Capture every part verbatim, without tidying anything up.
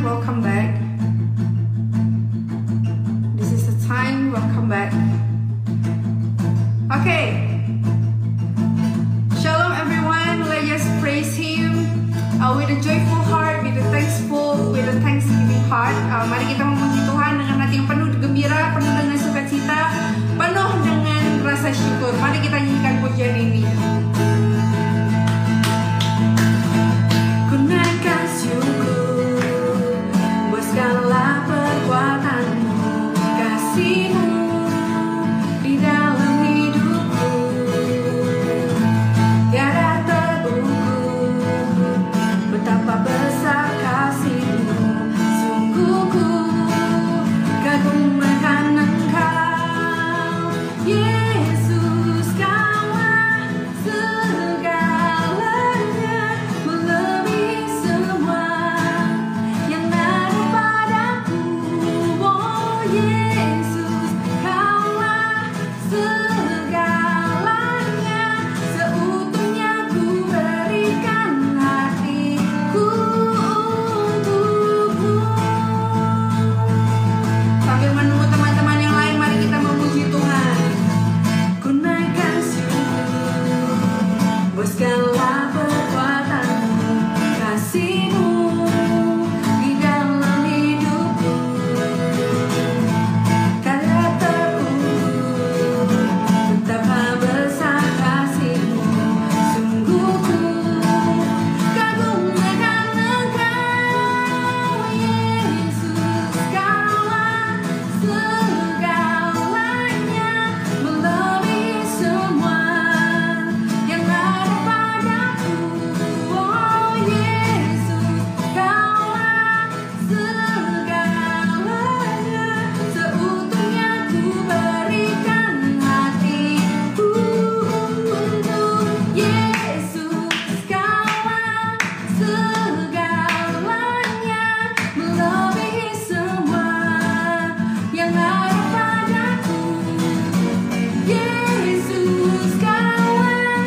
welcome back. This is the time, welcome back. Okay. Shalom everyone, let's just praise Him uh, with a joyful heart, with a thankful, with a thanksgiving heart. Uh, mari kita memuji Tuhan dengan hati yang penuh gembira, penuh dengan sukacita, penuh dengan rasa syukur. Mari kita nyanyikan pujian ini. Ku naikkan syukur buat segala perbuatanmu, kasihmu di dalam hidupku. Tiada terukur betapa besar kasihmu, sungguh ku kagum akan Engkau, Yesus. Kaulah segalanya, melebihi semua yang ada padaku. Oh Yesus, Kaulah segalanya, seutuhnya ku berikan hatiku untukmu. Sambil menunggu teman-teman yang lain, mari kita memuji Tuhan. Ku naikkan syukur buat segala perbuatanmu, kasihmu di dalam hidupku. Tiada terukur betapa besar kasihmu, sungguh ku kagum akan Engkau, Yesus. Kaulah segalanya, melebihi semua yang ada padaku. Oh Yesus, Kaulah segalanya, seutuhnya ku berikan hatiku untuk Yesus. Kaulah segalanya, melebihi semua yang ada padaku. Yesus, Kaulah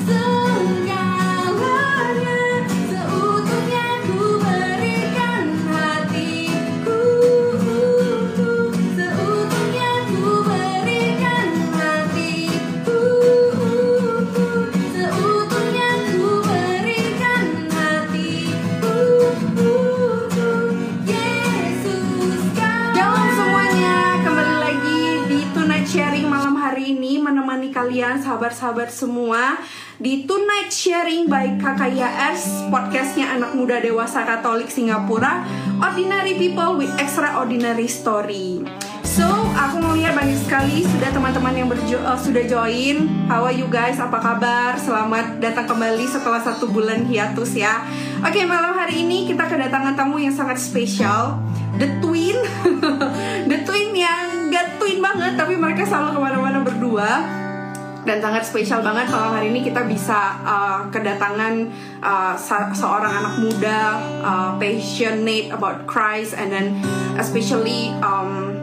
segalanya, seutuhnya ku berikan hatiku untuk, seutuhnya ku berikan hatiku untuk, seutuhnya ku berikan hatiku untuk Yesus. Shalom semuanya, kembali lagi di Tonight Sharing malam hari ini, menemani kalian sahabat-sahabat semua di Tonight Sharing by K K Y S, podcastnya anak muda dewasa Katolik Singapura, Ordinary People with Extraordinary Story. So, aku melihat banyak sekali sudah teman-teman yang berjo- uh, sudah join. How are you guys? Apa kabar? Selamat datang kembali setelah satu bulan hiatus ya. Oke, malam hari ini kita kedatangan tamu yang sangat spesial, The Twin. The Twin yang gak twin banget, tapi mereka selalu kemana-mana berdua. Dan sangat spesial banget malam hari ini kita bisa uh, kedatangan uh, se- seorang anak muda uh, passionate about Christ, and then especially um,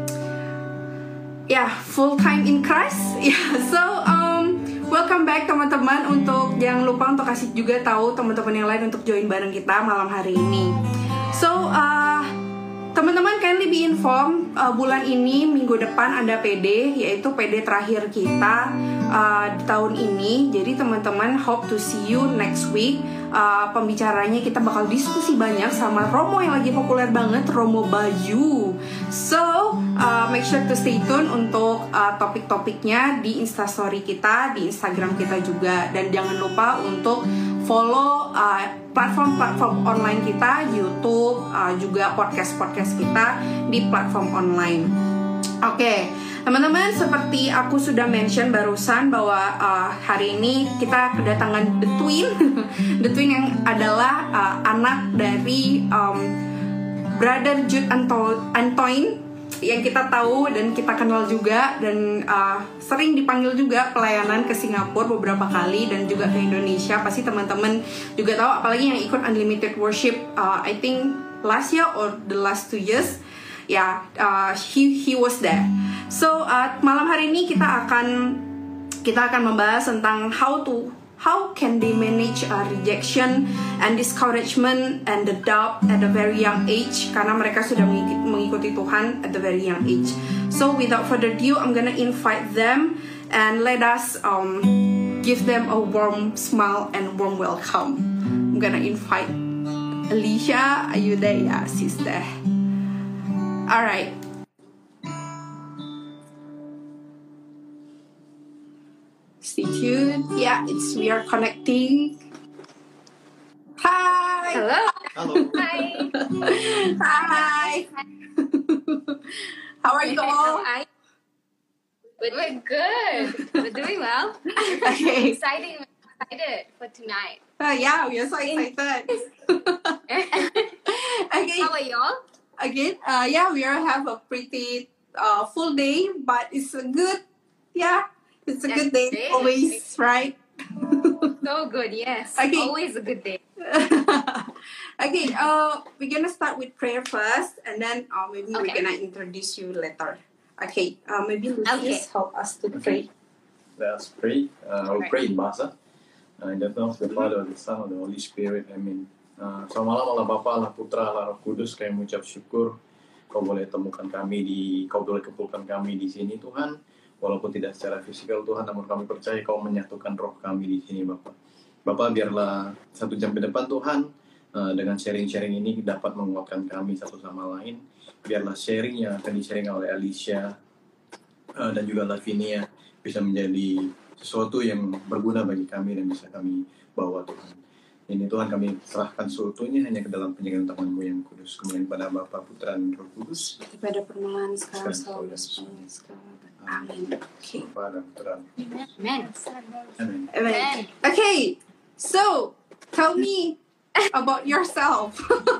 yeah, full time in Christ. Yeah, so um, welcome back teman-teman. Untuk jangan lupa untuk kasih juga tahu teman-teman yang lain untuk join bareng kita malam hari ini. So uh, teman-teman kindly be informed, uh, bulan ini minggu depan ada P D, yaitu P D terakhir kita uh, di tahun ini. Jadi teman-teman hope to see you next week. Uh, pembicaranya kita bakal diskusi banyak sama Romo yang lagi populer banget, Romo Bayu. So uh, make sure to stay tune untuk uh, topik-topiknya di Instastory kita, di Instagram kita juga. Dan jangan lupa untuk follow uh, platform-platform online kita, YouTube, uh, juga podcast-podcast kita di platform online. Oke, okay. Teman-teman, seperti aku sudah mention barusan bahwa uh, hari ini kita kedatangan The Twin. The Twin yang adalah uh, anak dari um, Brother Jude Anto- Antoine yang kita tahu dan kita kenal juga, dan uh, sering dipanggil juga pelayanan ke Singapura beberapa kali dan juga ke Indonesia. Pasti teman-teman juga tahu, apalagi yang ikut Unlimited Worship uh, I think last year or the last two years. Ya, yeah, uh, he he was there. So uh, malam hari ini kita akan kita akan membahas tentang how to how can they manage uh, rejection and discouragement and the doubt at a very young age, karena mereka sudah mengikuti Tuhan at the very young age. So without further ado, I'm gonna invite them and let us um, give them a warm smile and warm welcome. I'm gonna invite Alicia. Are you there? Yeah, she's there. All right. Stay tuned. Yeah, it's we are connecting. Hi. Hello. Hello. Hi. Hi. How are you all? Hi. We're, we're good. We're doing well. Okay. Exciting. We're excited for tonight. Uh, yeah, we are so excited. Okay. How are y'all? Again, uh, yeah, we are have a pretty uh, full day, but it's a good, yeah, it's a That's good day great. always, right? So good. Yes. Okay. Always a good day. Okay, uh, we're gonna start with prayer first, and then uh, maybe we're Okay. gonna introduce you later. Okay, uh, maybe Lucius Okay. help us to pray. Let us pray. Uh, we'll Alright. pray in Bahasa. Uh, in the name of the Father, the Son, and the Holy Spirit. Amin. Uh, selamat malam Allah Bapa, Allah Putra, Allah Roh Kudus. Kami mengucap syukur Kau boleh temukan kami di, Kau boleh kumpulkan kami di sini Tuhan. Walaupun tidak secara fisikal Tuhan, namun kami percaya Kau menyatukan roh kami di sini Bapa. Bapa, biarlah satu jam ke depan Tuhan, uh, dengan sharing-sharing ini dapat menguatkan kami satu sama lain. Biarlah sharing yang akan di-sharing oleh Alicia uh, dan juga Lavinia bisa menjadi sesuatu yang berguna bagi kami dan bisa kami bawa Tuhan. Ini Tuhan kami serahkan seutuhnya hanya ke dalam penjagaan tangan-Mu yang kudus. Kemudian pada Bapa, Putra, dan Roh Kudus. Pada permulaan sekarang Sekarang, selalu sekarang, sekarang. Amin. Okay. Bapa dan Putra. Amen. Amin. Amen. Okay, so tell me about yourself.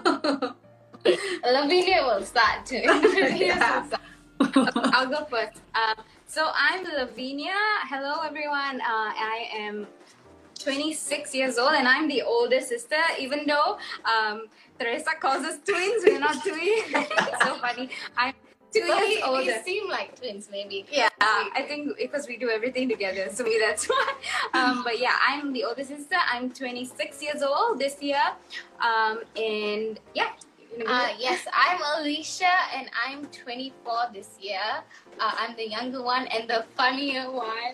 Lavinia will start to introduce Yeah. herself. I'll go first. Um, so I'm Lavinia. Hello, everyone. Uh, I am twenty-six years old, and I'm the older sister. Even though um, Teresa calls us twins, we're not twins. It's so funny. I'm two But years we, older. we seem like twins, maybe. Yeah, I think because we do everything together, so maybe that's why. Um, but yeah, I'm the older sister. I'm twenty-six years old this year, um, and yeah. you know, Uh, yes, I'm Alicia, and I'm twenty-four this year. Uh, I'm the younger one and the funnier one.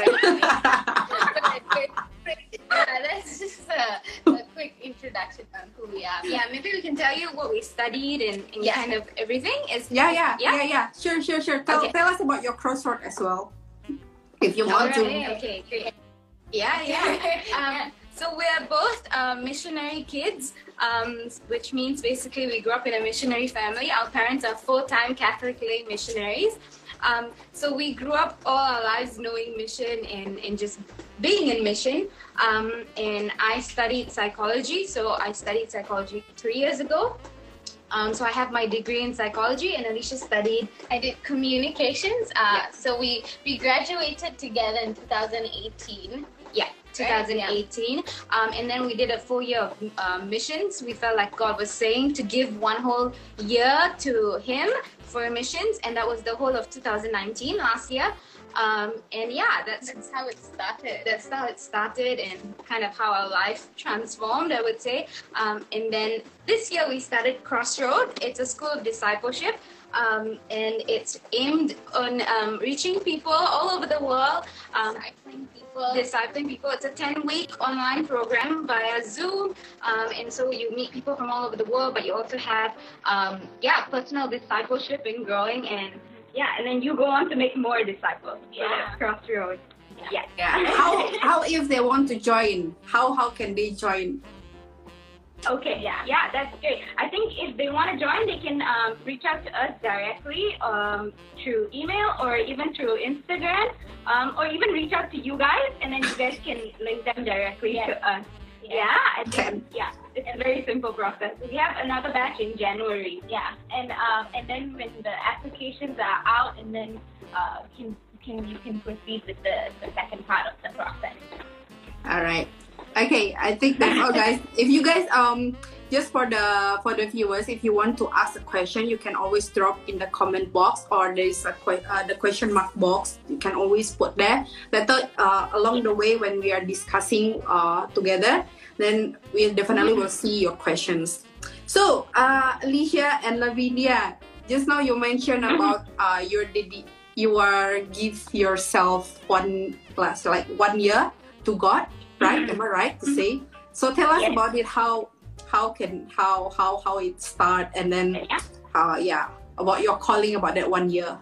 Yeah, that's just a, a quick introduction on who we are. yeah, maybe we can tell you what we studied and, and Yeah. kind of everything. Is Yeah, yeah, Yeah? yeah, yeah. Sure, sure, sure. Tell, Okay. tell us about your crossword as well, if you want Alright, to. okay, great. Yeah, yeah. Um, so we're both uh, missionary kids, um, which means basically we grew up in a missionary family. Our parents are full-time Catholic lay missionaries. Um, so we grew up all our lives knowing mission and, and just being in mission. Um, and I studied psychology. So I studied psychology three years ago. Um, so I have my degree in psychology, and Alicia studied. I did communications. Uh, Yeah. So we, we graduated together in two thousand eighteen. Yeah, twenty eighteen. Um, and then we did a full year of uh, missions. We felt like God was saying to give one whole year to Him for missions, and that was the whole of two thousand nineteen, last year. Um, and yeah, that's That's how it started. that's how it started and kind of how our life transformed, I would say. Um, and then this year we started Crossroad. It's a school of discipleship. Um, and it's aimed on um, reaching people all over the world, um, Discipling people. discipling people. It's a ten-week online program via Zoom, um, and so you meet people from all over the world, but you also have, um, yeah, personal discipleship and growing, and yeah, and then you go on to make more disciples. So Yeah. that's Crossroads. Yeah. Yeah. How how if they want to join? How how can they join? Okay, yeah, yeah, that's great. I think if they want to join, they can um, reach out to us directly um, through email or even through Instagram, um, or even reach out to you guys, and then you guys can link them directly Yes. to us. Yeah. Yeah, I Okay. think, yeah, it's a very simple process. We have another batch in January. Yeah, and um, and then when the applications are out, and then uh, can can you can proceed with the, the second part of the process. All right. Okay, I think that's all, guys. If you guys um just for the for the viewers, if you want to ask a question, you can always drop in the comment box, or there is a que- uh, the question mark box. You can always put there. Later, uh, along the way when we are discussing uh, together, then we definitely will see your questions. So, uh, Alicia and Lavinia, just now you mentioned about uh, your dedi- you are give yourself one plus like one year to God, right? Am I right to say? So tell us Yes. about it. How how can how how how it start, and then Yeah. uh yeah about your calling about that one year.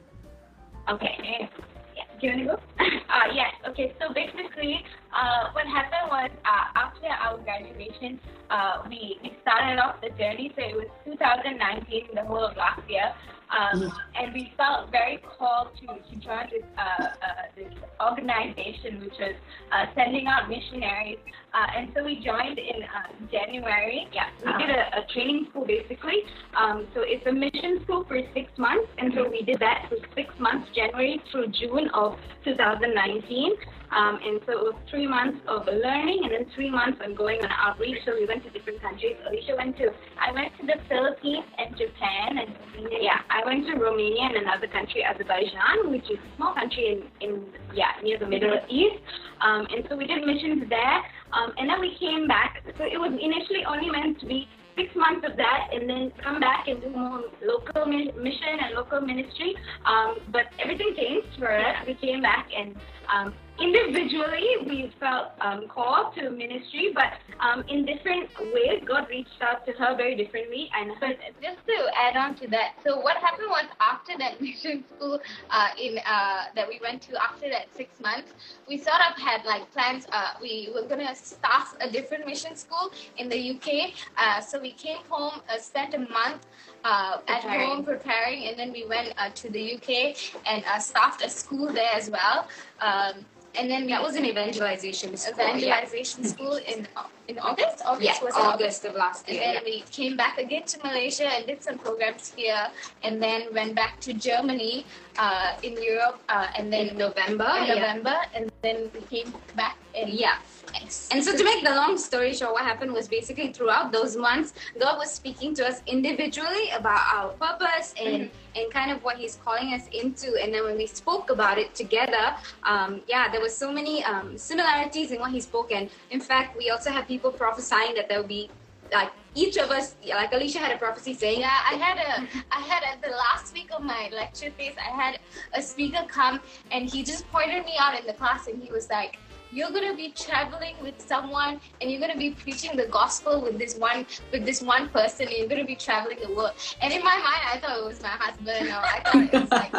Okay. Yeah. Do you want to go? uh, yes. Okay. So basically, uh, what happened was uh, after our graduation, uh, we, we started off the journey. So it was two thousand nineteen, the whole of last year. Um, and we felt very called to, to join this, uh, uh, this organization, which was uh, sending out missionaries. Uh, and so we joined in uh, January. Yeah, we did a, a training school basically. Um, so it's a mission school for six months. And so we did that for six months, January through June of two thousand nineteen. Um, and so it was three months of learning and then three months on going on outreach. So we went to different countries. Alicia went to, I went to the Philippines and Japan, and yeah, I went to Romania and another country, Azerbaijan, which is a small country in, in yeah, near the Middle East. Um, and so we did missions there. Um, and then we came back. So it was initially only meant to be six months of that, and then come back and do more local mi- mission and local ministry. Um, but everything changed for us. We came back and um, individually we felt um, called to ministry, but um, in different ways. God reached out to her very differently. And But just to add on to that, so what happened was after that mission school uh, in uh, that we went to after that six months, we sort of had like plans. Uh, we were gonna start a different mission school in the U K. Uh, so we came home, uh, spent a month uh, at Preparing. home preparing, and then we went uh, to the U K and uh, staffed a school there as well. Um, and then we That was an evangelization school. evangelization school in in August. August Yeah, was it August of last And year. then we came back again to Malaysia and did some programs here, and then went back to Germany uh, in Europe, uh, and then In November. in yeah. November, and then we came back in Yeah. And so to make the long story short, what happened was basically throughout those months, God was speaking to us individually about our purpose and, and kind of what He's calling us into. And then when we spoke about it together, um, yeah, there was so many um, similarities in what He spoke. And in fact, we also have people prophesying that there will be, like, each of us, like Alicia had a prophecy saying, Yeah, I had a, I had at the last week of my lecture phase, I had a speaker come, and he just pointed me out in the class, and he was like, "You're gonna be traveling with someone, and you're gonna be preaching the gospel with this one, with this one person, and you're gonna be traveling the world." And in my mind, I thought it was my husband. Or I thought it was like,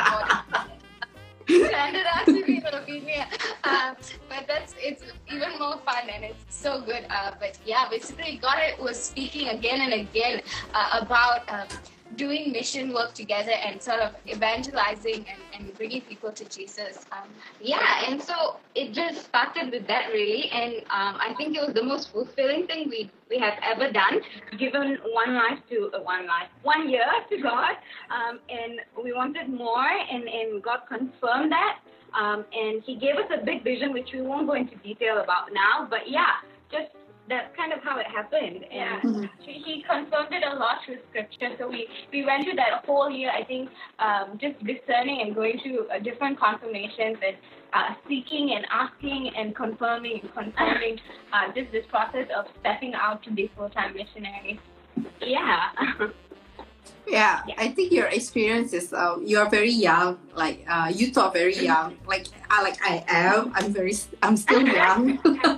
no, it ended up to be Lavinia. Um, but that's it's even more fun, and it's so good. Uh, but yeah, basically, God was speaking again and again uh, about um, doing mission work together and sort of evangelizing and, and bringing people to Jesus. Um, yeah, and so it just started with that really, and um, I think it was the most fulfilling thing we we have ever done, given one life to uh, one life, one year to God, um, and we wanted more, and, and God confirmed that, um, and He gave us a big vision, which we won't go into detail about now, but yeah, just that's kind of how it happened. And he, he confirmed it a lot through scripture. So we, we went through that whole year, I think, um, just discerning and going through uh, different confirmations and uh, seeking and asking and confirming and confirming uh, just this process of stepping out to be full-time missionaries. Yeah. Yeah, Yeah. I think your experience is uh, you are very young. Like uh, you two are very young. Like I like I am. I'm very. I'm still young.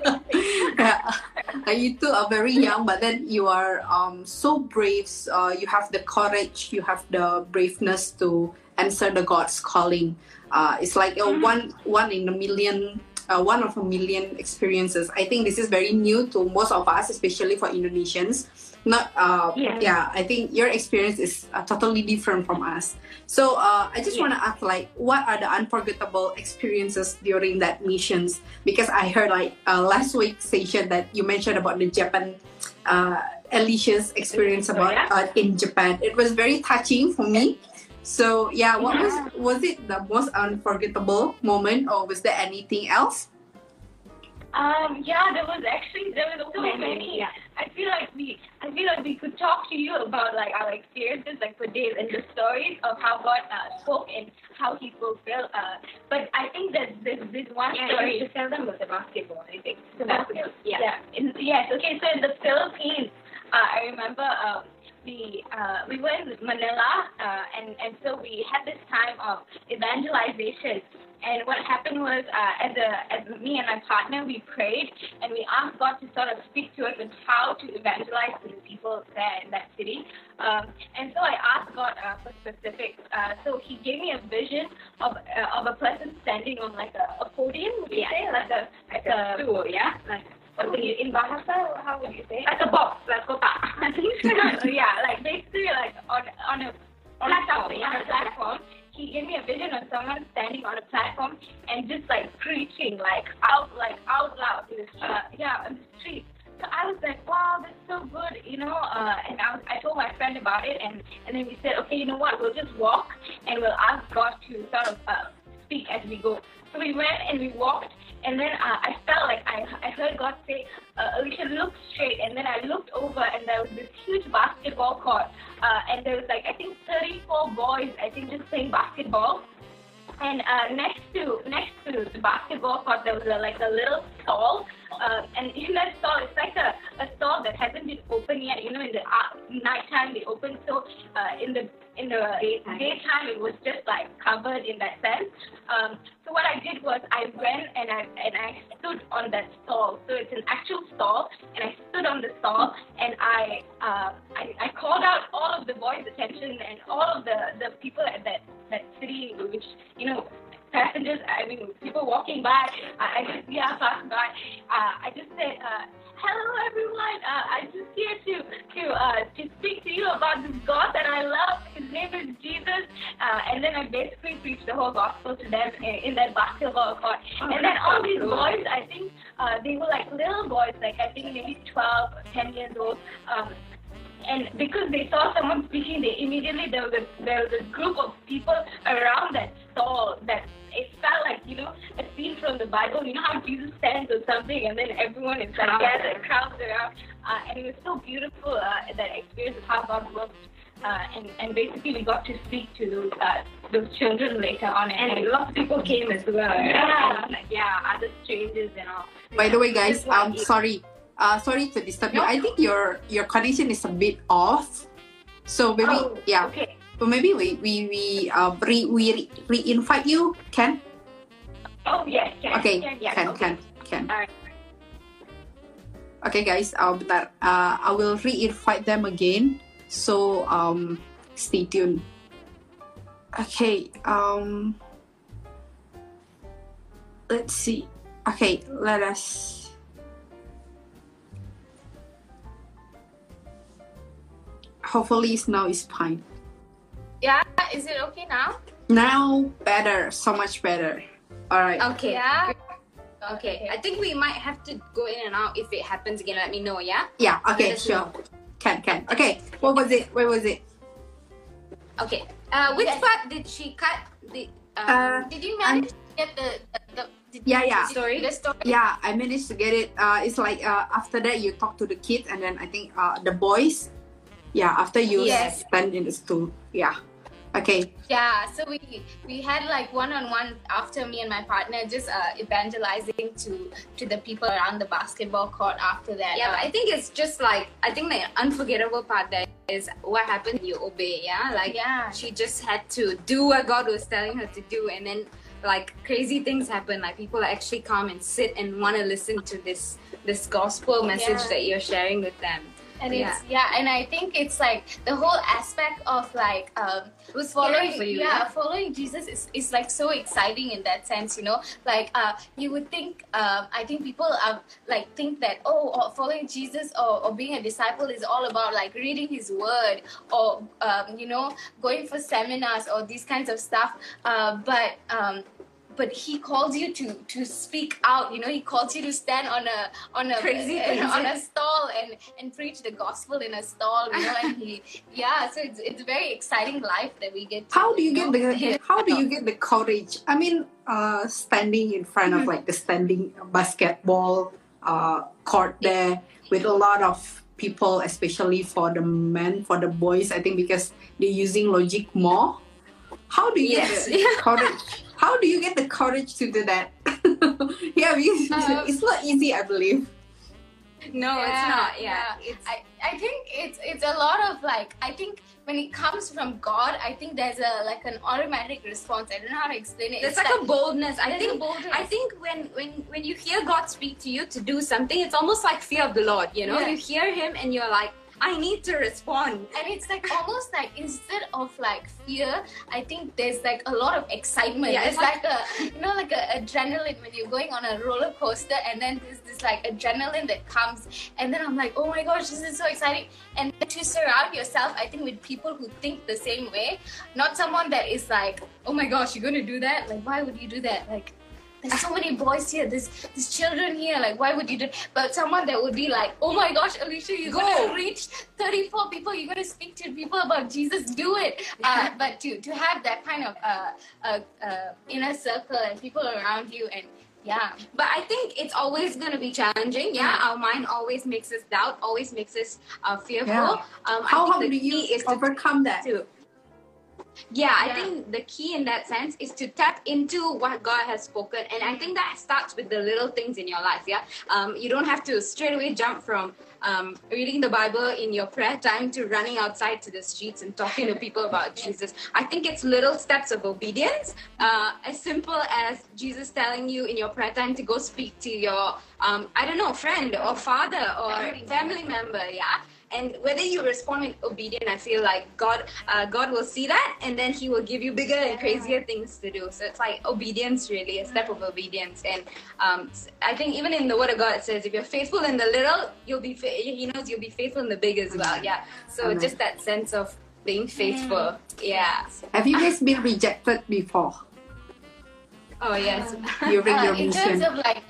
Yeah. Like, you two are very young, but then you are um so brave. Uh, you have the courage. You have the braveness to answer the God's calling. Uh, it's like a one one in a million. Uh, one of a million experiences. I think this is very new to most of us, especially for Indonesians. Not, uh, Yeah. yeah. I think your experience is uh, totally different from us. So uh, I just Yeah. want to ask, like, what are the unforgettable experiences during that missions? Because I heard like uh, last week's session that you mentioned about the Japan, uh, Alicia's experience Oh, about yeah? uh, in Japan. It was very touching for me. So yeah, what was was it the most unforgettable moment, or was there anything else? Um, yeah, there was actually there was so Many, many. yeah. I feel like we I feel like we could talk to you about like our experiences like for days and the stories of how God uh, spoke and how He fulfilled. Uh, but I think that there's this one Yeah, story. you should tell them about the basketball, I think. The Uh, basketball. Yeah. yeah. In, yes. Okay. So in the Philippines, uh, I remember um, we uh, we were in Manila, uh, and and so we had this time of evangelization. And what happened was, uh, as a as me and my partner, we prayed and we asked God to sort of speak to us and how to evangelize to the people there in that city. Um, and so I asked God uh, for specifics. Uh, so He gave me a vision of uh, of a person standing on like a, a podium, would you Yeah. say, like a Like like a a stool, yeah? Like, what would you, in Bahasa, how would you say? like a box, like kotak. Yeah, like basically like on on a on a Platform, on a yeah. platform. He gave me a vision of someone standing on a platform and just like preaching like out like out loud in the street. Uh, yeah, on the street. So I was like, wow, that's so good, you know. Uh, and I, was, I told my friend about it, and and then we said, okay, you know what? We'll just walk and we'll ask God to sort of uh, speak as we go. So we went and we walked, and then uh, I felt like I I heard God say, uh, Alicia, look straight. And then I looked over, and there was this huge basketball court, uh, and there was like I think thirty-four boys, I think, just playing basketball. And uh, next to next to the basketball court, there was a, like a little stall. Uh, and in that stall, it's like a, a stall that hasn't been opened yet. You know, in the uh, nighttime they open. So uh, in the in the Daytime. daytime, it was just like covered in that sense. Um, so what I did was I went and I and I stood on that stall. So it's an actual stall, and I stood on the stall and I uh, I, I called out all of the boys' attention and all of the, the people at that that city, which you know. Passengers, I mean, people walking by, I, I just, yeah, passed by. Uh, I just said, uh, hello everyone, uh, I'm just here to to uh, to speak to you about this God that I love. His name is Jesus. Uh, and then I basically preached the whole gospel to them in, in that basketball court. Oh, And then that's all so these cool. boys, I think uh, they were like little boys, like I think maybe twelve, ten years old. Um, And because they saw someone speaking, they immediately there was a there was a group of people around that stall that it felt like, you know, a scene from the Bible. You know how Jesus stands or something, and then everyone is like Crowds. gathered, crowds around, uh, and it was so beautiful uh, that experience of how God works. Uh, and and basically we got to speak to those uh, those children later on, And a lot of people came as well. right? Yeah. Like, yeah, other strangers and all. By the way, guys, Just um, like- sorry, uh, sorry to disturb you. No. I think your your connection is a bit off. So maybe, Oh, yeah. okay. So maybe we we we uh re we re, re-invite you, Ken. Oh yes, yes, Okay, yes, yes, Ken, okay. Ken, Ken. Alright. Okay, guys. Uh, bentar. Uh, I will re-invite them again. So um, stay tuned. Okay. Um, let's see. Okay, let us. Hopefully, now is fine. Yeah, is it okay now? Now better, so much better. All right. Okay. Yeah. Okay. I think we might have to go in and out. If it happens again, let me know, yeah? Yeah. Okay. Let us Sure. know. Can can. Okay. What was it? Where was it? Okay. Uh, which Yes. part did she cut? The, um, Uh, did you manage to get the, the, the did Yeah, you- yeah. the story? The story? Yeah, I managed to get it. Uh, it's like uh, after that you talk to the kids, and then I think uh, the boys. Yeah, after you Yes. stand in the stool. Yeah. Okay. Yeah, so we we had like one on one after me and my partner just uh, evangelizing to to the people around the basketball court after that. Yeah, but I think it's just like I think the unforgettable part there is what happened when you obey. Yeah, like Yeah. she just had to do what God was telling her to do, and then like crazy things happen. Like people actually come and sit and want to listen to this this gospel message Yeah. that you're sharing with them. And Yeah. it's yeah, and I think it's like the whole aspect of like um It was following following for you, yeah, yeah? following Jesus is, is like so exciting in that sense, you know. Like uh you would think um I think people are like think that oh or following Jesus or, or being a disciple is all about like reading his word or um you know going for seminars or these kinds of stuff. Uh but um but he calls you to to speak out. You know, he calls you to stand on a on a Crazy uh, things. on a stall and and preach the gospel in a stall. You know, and he yeah. So it's it's a very exciting life that we get. To, How do you get know, the hear how do about. you get the courage? I mean, uh, standing in front of like the standing basketball uh, court there with a lot of people, especially for the men, for the boys. I think because they're using logic more. How do you Yes. get the courage? How do you get the courage to do that? Yeah, because Um, it's not easy, I believe. No, it's not. Yeah, yeah. it's I, I think it's it's a lot of like I think when it comes from God, I think there's a like an automatic response. I don't know how to explain it. It's like, a boldness. I there's a think. boldness. I think when when when you hear God speak to you to do something, it's almost like fear of the Lord. You know, Yeah. you hear Him and you're like, I need to respond. And it's like almost like instead of like fear, I think there's like a lot of excitement. Yeah, it's it's like, a you know like a adrenaline when you're going on a roller coaster, and then there's this like adrenaline that comes, and then I'm like, oh my gosh, this is so exciting. And to surround yourself, I think with people who think the same way, not someone that is like, oh my gosh, you're gonna do that? Like, why would you do that? Like, there's so many boys here, there's there's children here, like why would you do? But someone that would be like, oh my gosh, Alicia, you're Go. gonna reach thirty-four people, you're gonna speak to people about Jesus, do it. Uh, but to to have that kind of uh, uh, uh, inner circle and people around you, and yeah, But I think it's always going to be challenging. Yeah, our mind always makes us doubt, always makes us uh, fearful. Yeah. Um, How, I how think do the you key is to overcome that? to yeah, I Yeah. think the key in that sense is to tap into what God has spoken, and I think that starts with the little things in your life. Yeah, um, you don't have to straight away jump from um, reading the Bible in your prayer time to running outside to the streets and talking to people about Jesus. I think it's little steps of obedience, uh, as simple as Jesus telling you in your prayer time to go speak to your um, I don't know, friend or father or Family family member. Yeah. And whether you respond with obedience, I feel like God, uh, God will see that, and then He will give you bigger and crazier things to do. So it's like obedience, really, a step of obedience. And um, I think even in the Word of God, it says, if you're faithful in the little, you'll be. Fa- He knows you'll be faithful in the big as well. Yeah. So Amen. just that sense of being faithful. Yeah. Have you guys been rejected before Oh yes. during uh, your in terms mission? of like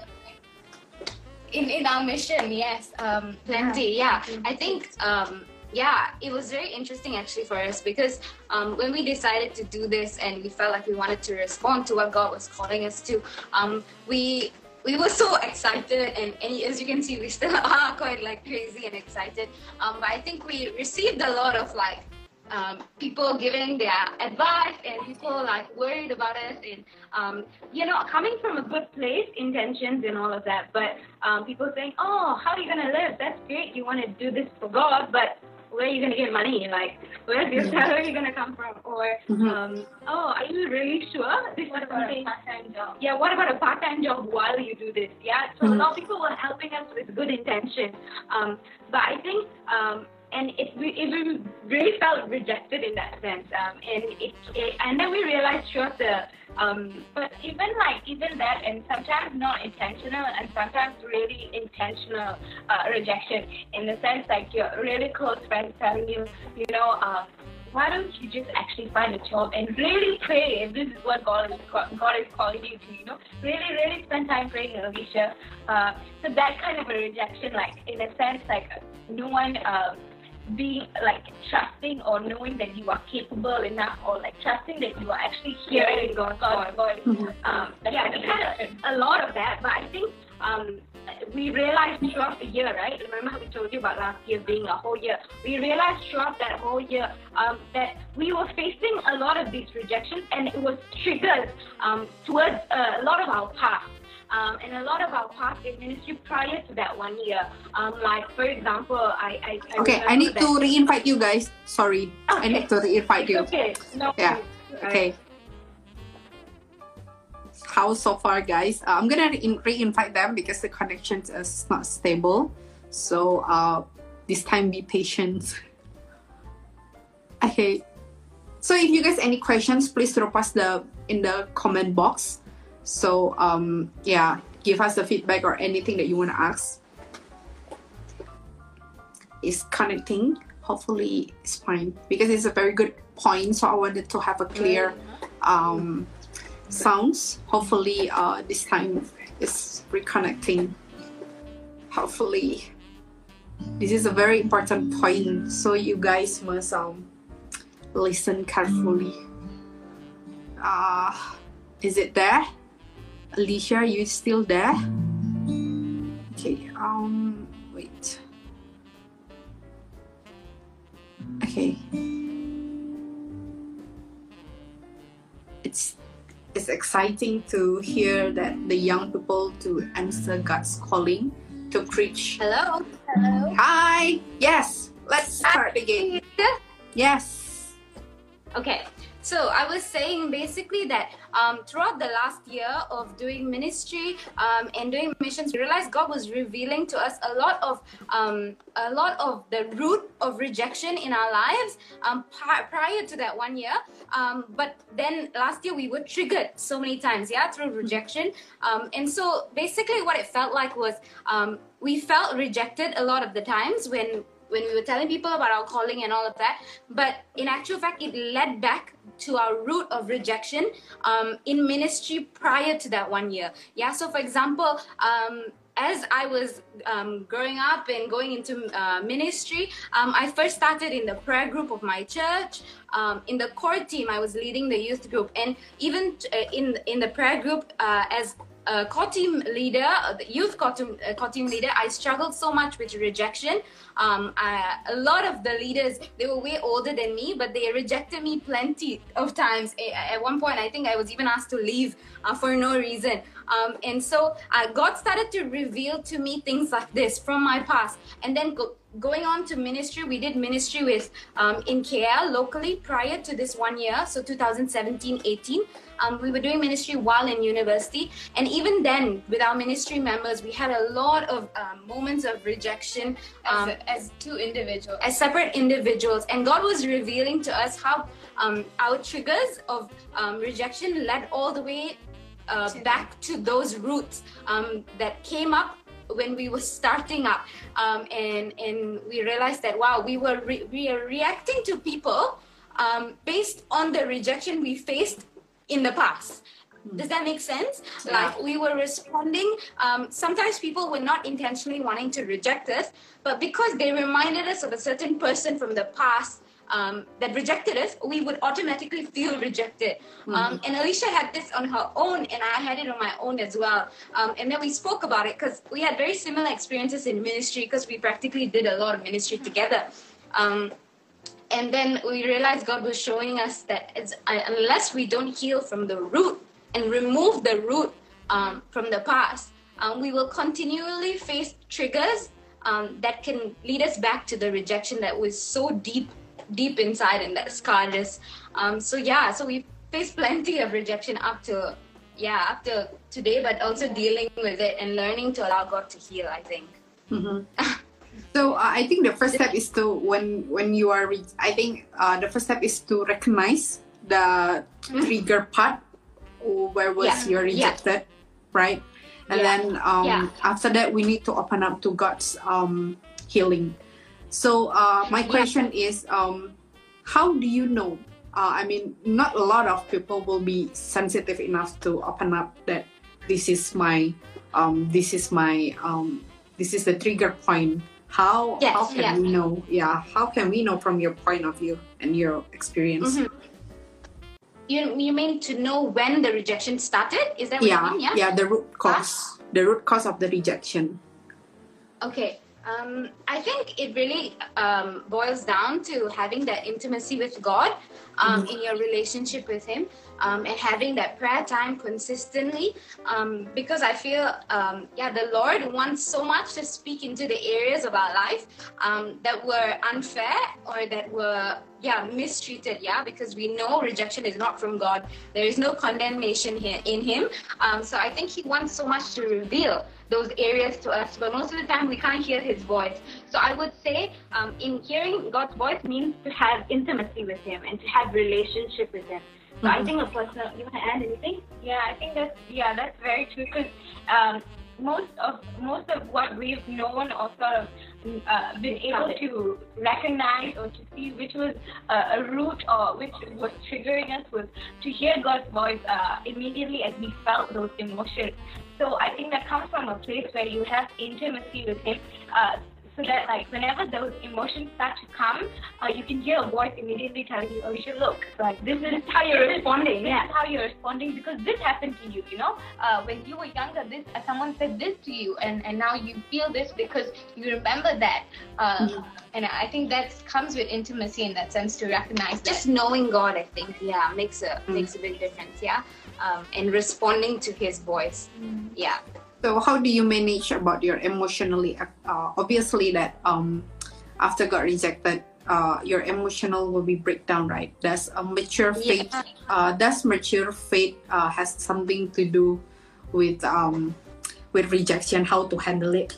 in in our mission, yes, um, Plenty, yeah. I think, um, yeah, it was very interesting actually for us because um, when we decided to do this and we felt like we wanted to respond to what God was calling us to, um, we we were so excited, and, and as you can see, we still are quite like crazy and excited. Um, but I think we received a lot of like um, people giving their advice and people like worried about us, and um, you know, coming from a good place, intentions and all of that, but um, people saying, oh, how are you going to live? That's great, you want to do this for God, but where are you going to get money? Like, where's your salary going to come from? Or, Mhm. um, oh, are you really sure this is What about a something? part-time job? Yeah, what about a part-time job while you do this? Yeah, so a lot of people were helping us with good intention. Um, but I think, um, and it, we, it we really felt rejected in that sense. Um, and it, it, and then we realized throughout the, um, But even like even that, and sometimes not intentional, and sometimes really intentional uh, rejection. In the sense, like your really close friends telling you, you know, uh, why don't you just actually find a job and really pray if this is what God is God is calling you to, you know, really really spend time praying, Alicia. Uh, so that kind of a rejection, like in a sense, like no one. Uh, being like trusting or knowing that you are capable enough, or like trusting that you are actually hearing God's voice. Um, yeah, we had a, a lot of that, but I think um, we realized throughout the year, right? Remember how we told you about last year being a whole year? We realized throughout that whole year um, that we were facing a lot of these rejections, and it was triggered um, towards uh, a lot of our past. Um, and a lot of our past in ministry prior to that one year. Um, like, for example, I... I, I Okay, I remember need that- to re-invite you guys. Sorry, I need to re-invite you. Okay, no Yeah. worries. Okay. How so far, guys? Uh, I'm gonna re- re-invite them because the connection is not stable. So uh, this time, be patient. Okay. So if you guys any questions, please drop us the in the comment box. So um, yeah, give us the feedback or anything that you want to ask. It's connecting. Hopefully, it's fine because it's a very good point. So I wanted to have a clear um, sounds. Hopefully, uh, this time is reconnecting. Hopefully, this is a very important point, so you guys must um listen carefully. Uh, is it there? Alicia, you still there? Okay. Um. Wait. Okay. It's it's exciting to hear that the young people to answer God's calling to preach. Hello. Hello. Hi. Yes. Let's start again. Yes. Okay, so I was saying basically that um, throughout the last year of doing ministry um, and doing missions, we realized God was revealing to us a lot of um, a lot of the root of rejection in our lives um, pri- prior to that one year. Um, but then last year we were triggered so many times, yeah, through rejection. Um, and so basically what it felt like was um, we felt rejected a lot of the times when when we were telling people about our calling and all of that. But in actual fact, it led back to our root of rejection um, in ministry prior to that one year. Yeah, so for example, um, as I was um, growing up and going into uh, ministry, um, I first started in the prayer group of my church. Um, in the core team, I was leading the youth group. And even uh, in, in the prayer group, uh, as a core team leader, the youth core team, uh, core team leader, I struggled so much with rejection. Um, I, a lot of the leaders, they were way older than me, but they rejected me plenty of times. At one point, I think I was even asked to leave uh, for no reason. Um, and so uh, God started to reveal to me things like this from my past. And then go, going on to ministry, we did ministry with um, in K L locally prior to this one year, so two thousand seventeen eighteen. Um, we were doing ministry while in university, and even then, with our ministry members, we had a lot of um, moments of rejection um, As, as two individuals. as separate individuals. And God was revealing to us how um, our triggers of um, rejection led all the way uh, back to those roots um, that came up when we were starting up, um, and and we realized that wow, we were re- we are reacting to people um, based on the rejection we faced in the past. Does that make sense? Yeah. Like we were responding. Um, sometimes people were not intentionally wanting to reject us, but because they reminded us of a certain person from the past um, that rejected us, we would automatically feel rejected. Mm-hmm. Um, and Alicia had this on her own, and I had it on my own as well. Um, and then we spoke about it because we had very similar experiences in ministry because we practically did a lot of ministry together. Um, and then we realized God was showing us that it's, uh, unless we don't heal from the root and remove the root um, from the past, um, we will continually face triggers um, that can lead us back to the rejection that was so deep, deep inside and that scarred us. Um, so yeah, so we faced plenty of rejection up to, yeah, up to today, but also dealing with it and learning to allow God to heal, I think. Mm-hmm. So uh, I think the first step is to when when you are re- I think uh, the first step is to recognize the trigger part where was Yeah. you rejected, right? And Yeah. then um, Yeah. after that we need to open up to God's um, healing. So uh, my Yeah. question is, um, how do you know? Uh, I mean, not a lot of people will be sensitive enough to open up that this is my, um, this is my, um, this is the trigger point. How Yes, how can yeah. we know? Yeah, how can we know from your point of view and your experience? Mhm. You, you mean to know when the rejection started? Is that what Yeah, you mean? Yeah. yeah, the root cause, the root cause of the rejection. Okay. Um, I think it really um, boils down to having that intimacy with God um, in your relationship with Him um, and having that prayer time consistently. Um, because I feel, um, yeah, the Lord wants so much to speak into the areas of our life um, that were unfair or that were, yeah, mistreated. Yeah, because we know rejection is not from God. There is no condemnation here in Him. Um, so I think He wants so much to reveal those areas to us, but most of the time we can't hear His voice. So I would say um, in hearing God's voice means to have intimacy with Him and to have relationship with Him. So I think a personal, you want to add anything? Yeah, I think that's yeah, that's very true. Because um, most of most of what we've known or sort of uh, been able to recognize or to see which was uh, a root or which was triggering us was to hear God's voice uh, immediately as we felt those emotions. So I think that comes from a place where you have intimacy with Him. Uh, So that, like, whenever those emotions start to come, uh, you can hear a voice immediately telling you, "Oh, you should look." Like, this is how you're responding. This Yeah. is how you're responding because this happened to you. You know, uh, when you were younger, this uh, someone said this to you, and and now you feel this because you remember that. Uh, And I think that comes with intimacy in that sense to recognize that. Just knowing God, I think, yeah, makes a Mm. makes a big difference, yeah. Um, and responding to His voice, yeah. So how do you manage about your emotionally? Uh, obviously, that um, after got rejected, uh, your emotional will be breakdown, right? Does a mature faith? Uh, does mature faith uh, has something to do with um, with rejection? How to handle it?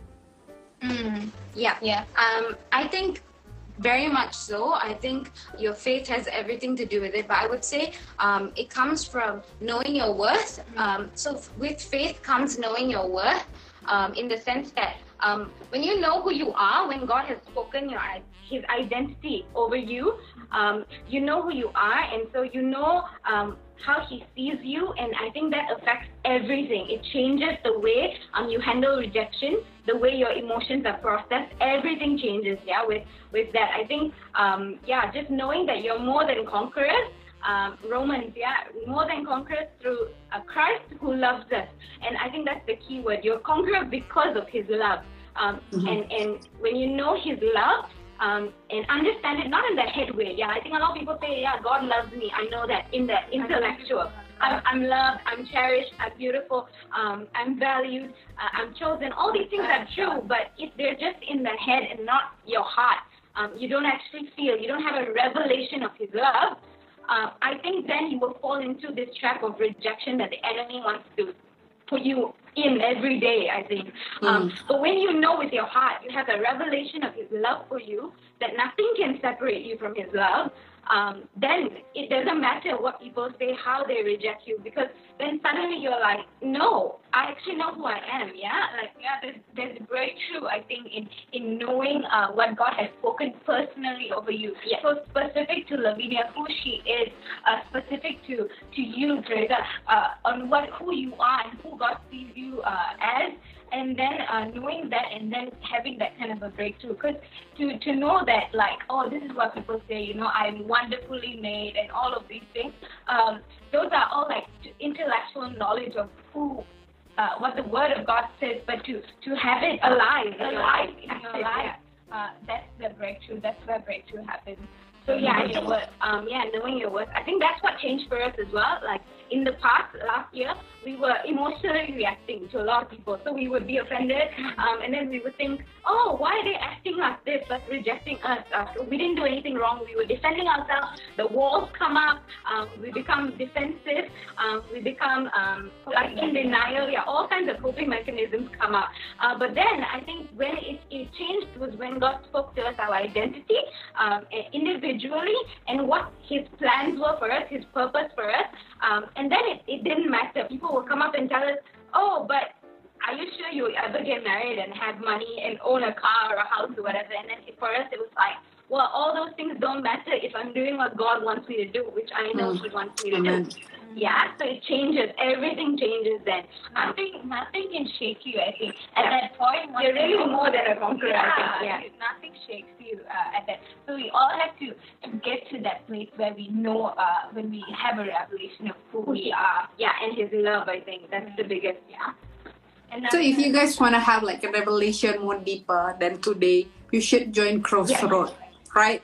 Mm, yeah. Yeah. Um, I think very much so. I think your faith has everything to do with it. But I would say um, it comes from knowing your worth. Um, so f- with faith comes knowing your worth um, in the sense that um, when you know who you are, when God has spoken your i- His identity over you, um, you know who you are, and so you know um, how He sees you, and I think that affects everything. It changes the way um, you handle rejection, the way your emotions are processed. Everything changes, yeah, with, with that. I think, um, yeah, just knowing that you're more than conquerors, um, Romans, yeah, more than conquerors through uh, Christ who loves us. And I think that's the key word. You're conqueror because of His love. Um, Mhm. and, and when you know His love, Um, and understand it not in the head way. Yeah, I think a lot of people say, yeah, God loves me. I know that in the intellectual. I'm, I'm loved, I'm cherished, I'm beautiful, um, I'm valued, uh, I'm chosen. All these things are true, but if they're just in the head and not your heart, um, you don't actually feel, you don't have a revelation of His love, uh, I think then you will fall into this trap of rejection that the enemy wants to put you in every day, I think. Um, but when you know with your heart, you have a revelation of His love for you, that nothing can separate you from His love, um, then it doesn't matter what people say, how they reject you, because then suddenly you're like, no, I actually know who I am, yeah? Like, yeah, there's, there's breakthrough, I think, in, in knowing uh, what God has spoken personally over you. Yes. So specific to Lavinia, who she is, uh, specific to, to you, Teresa, uh, on what who you are and who God sees you uh, as, and then uh, knowing that and then having that kind of a breakthrough. Because to, to know that, like, oh, this is what people say, you know, I'm wonderfully made and all of these things, um, those are all like intellectual knowledge of who, uh, what the Word of God says, but to, to have it alive, alive in your life, uh, that's the breakthrough, that's where breakthrough happens. So yeah, your worth, um, yeah, knowing your worth. I think that's what changed for us as well. Like in the past, last year, we were emotionally reacting to a lot of people. So we would be offended, um, and then we would think, oh, why are they acting like this, like rejecting us? Uh, so we didn't do anything wrong. We were defending ourselves. The walls come up. Um, we become defensive. Um, we become um, like in denial. Yeah, all kinds of coping mechanisms come up. Uh, but then I think when it, it changed was when God spoke to us our identity um, individually and what His plans were for us, His purpose for us. Um, and then it, it didn't matter. People will come up and tell us, oh, but are you sure you'll ever get married and have money and own a car or a house or whatever? And then for us, it was like, well, all those things don't matter if I'm doing what God wants me to do, which I know Mm. He wants me to Amen. do. Yeah, so it changes. Everything changes then. Nothing, nothing can shake you, I think. At that point, you're really more than a conqueror, I think. Yeah, nothing shakes you uh, at that. So we all have to, to get to that place where we know, uh, when we have a revelation of who we are. Yeah, and His love, I think. That's the biggest, yeah. And So if you guys want to have like a revelation more deeper than today, you should join Crossroad, right?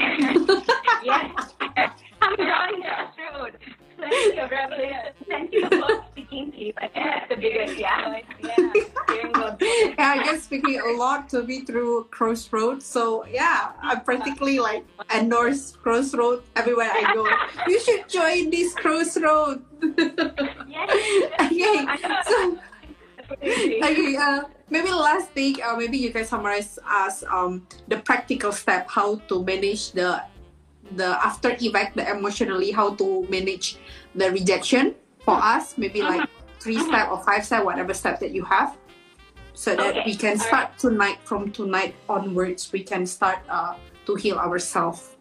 Yes. I'm drawing Crossroad. Plenty of revelation. Plenty of God speaking to you. I think that's the biggest, yeah. Yeah. Hearing God's voice. Yeah, I guess speaking a lot to me through Crossroad. So yeah, I practically like endorse Crossroad everywhere I go. You should join this Crossroad. Yes. Okay, so okay, uh, maybe last thing, uh, maybe you can summarize us um the practical step how to manage the the after effect, the emotionally, how to manage the rejection for us. Maybe like three step or five step, whatever step that you have, so that Okay, we can all start tonight. From tonight onwards, we can start uh, to heal ourselves.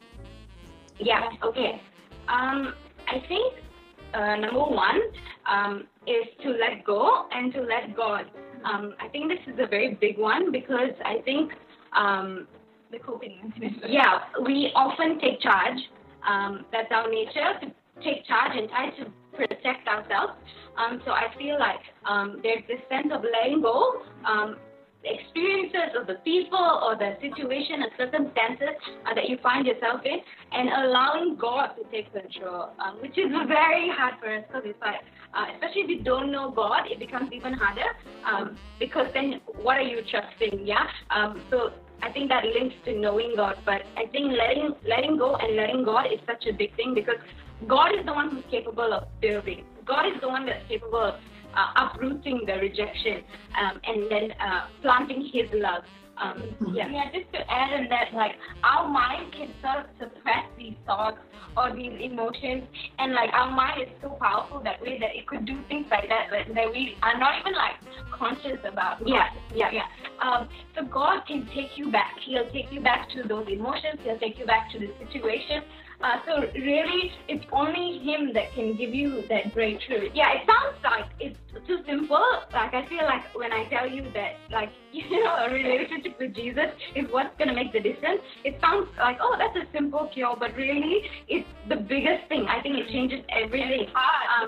Yeah, okay. Um, I think uh, number one um, is to let go and to let God. Um, I think this is a very big one because I think, um, The coping mechanism. yeah, we often take charge. Um, that's our nature, to take charge and try to protect ourselves. Um, so I feel like um, there's this sense of letting go. Um, experiences of the people or the situation and circumstances uh, that you find yourself in, and allowing God to take control, um, which is very hard for us because it's like, uh, especially if you don't know God, it becomes even harder um, because then what are you trusting? Yeah. Um, so I think that links to knowing God, but I think letting letting go and letting God is such a big thing because God is the one who's capable of building. God is the one that's capable of uh, uprooting the rejection um, and then uh, planting His love. Um, yeah. Yeah, just to add on that, like our mind can sort of suppress these thoughts or these emotions, and like our mind is so powerful that way that it could do things like that, but that we are not even like conscious about. Yeah, yeah. yeah. Um, so God can take you back. He'll take you back to those emotions. He'll take you back to the situation. Uh, so really, it's only Him that can give you that breakthrough. Yeah, it sounds like it's too simple. Like I feel like when I tell you that, like, you know, a relationship with Jesus is what's gonna make the difference. It sounds like, oh, that's a simple cure, but really, it's the biggest thing. I think it changes everything. Um,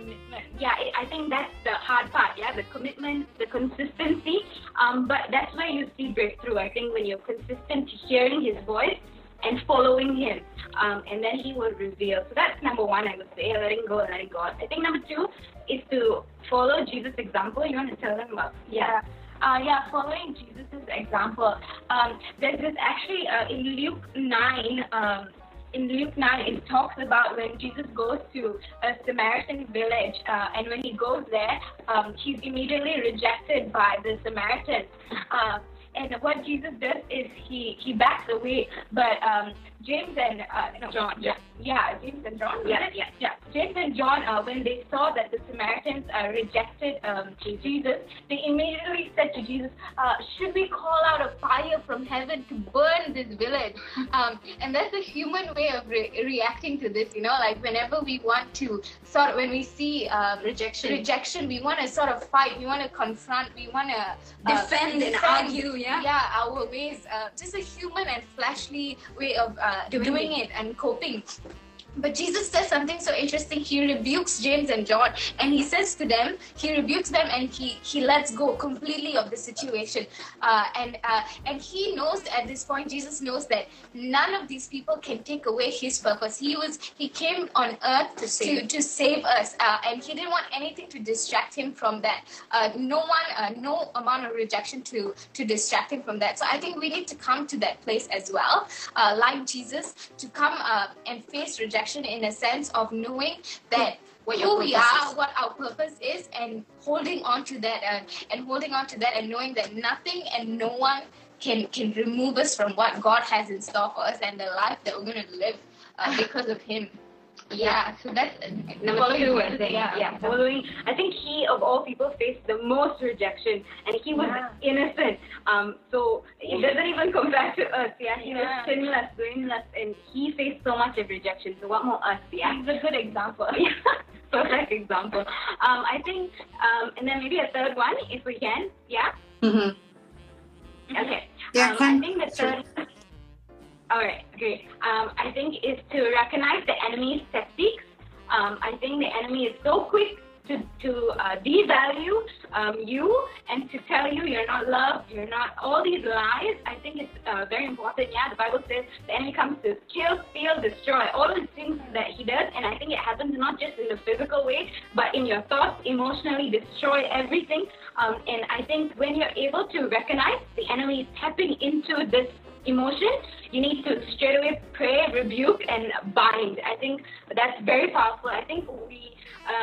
yeah, it, I think that's the hard part. Yeah, the commitment, the consistency. Um, but that's where you see breakthrough. I think when you're consistent to hearing His voice and following Him, um, and then He will reveal. So that's number one, I would say, letting go and letting God. I think number two is to follow Jesus' example. You want to tell them about? Yeah. Uh, yeah, following Jesus' example. Um, there's this actually uh, in Luke nine. Um, in Luke nine, it talks about when Jesus goes to a Samaritan village, uh, and when He goes there, um, He's immediately rejected by the Samaritans. Uh, And what Jesus does is he, he backs away, but um, James and uh, no, John, yeah. yeah, James and John, Yeah, was it? yeah. yeah. James and John, uh, when they saw that the Samaritans uh, rejected um, Jesus, they immediately said to Jesus, uh, "Should we call out a fire from heaven to burn this village?" Um, and that's a human way of re- reacting to this, you know, like whenever we want to sort of, when we see uh, Rejection. rejection, we want to sort of fight, we want to confront, we want to uh, Defend and argue, yeah? Yeah, our ways, uh, just a human and fleshly way of uh, Doing doing, it and coping. But Jesus says something so interesting. He rebukes James and John, and He says to them, He rebukes them, and He, he lets go completely of the situation. Uh, and uh, and He knows at this point, Jesus knows that none of these people can take away His purpose. He was He came on earth to save, to, to save us, uh, and He didn't want anything to distract Him from that. Uh, no one, uh, no amount of rejection to, to distract Him from that. So I think we need to come to that place as well, uh, like Jesus, to come uh, and face rejection in a sense of knowing that What your who we purpose are, is. what our purpose is, and holding on to that, uh, and holding on to that, and knowing that nothing and no one can can remove us from what God has in store for us and the life that we're going to live uh, because of Him. Yeah, so that's uh, Number following two, Jesus, I think. yeah. Yeah, following. I think he, of all people, faced the most rejection, and he was Yeah. innocent. Um, so it doesn't even compare to us. Yeah, he Yeah. was sinless, blameless, and he faced so much of rejection. So what more us? Yeah, He's a good example. yeah. Perfect example. Um, I think, um, and then maybe a third one, if we can. Yeah. Mm-hmm. Okay. Yeah, um, can- I think the third. All right, great. Um, I think is to recognize the enemy's tactics. Um, I think the enemy is so quick to to uh, devalue um, you and to tell you you're not loved, you're not, all these lies. I think it's uh, very important. Yeah, the Bible says the enemy comes to kill, steal, destroy, all the things that he does. And I think it happens not just in the physical way, but in your thoughts, emotionally destroy everything. Um, and I think when you're able to recognize the enemy is tapping into this emotion, you need to straight away pray, rebuke, and bind. I think that's very powerful. I think we, um,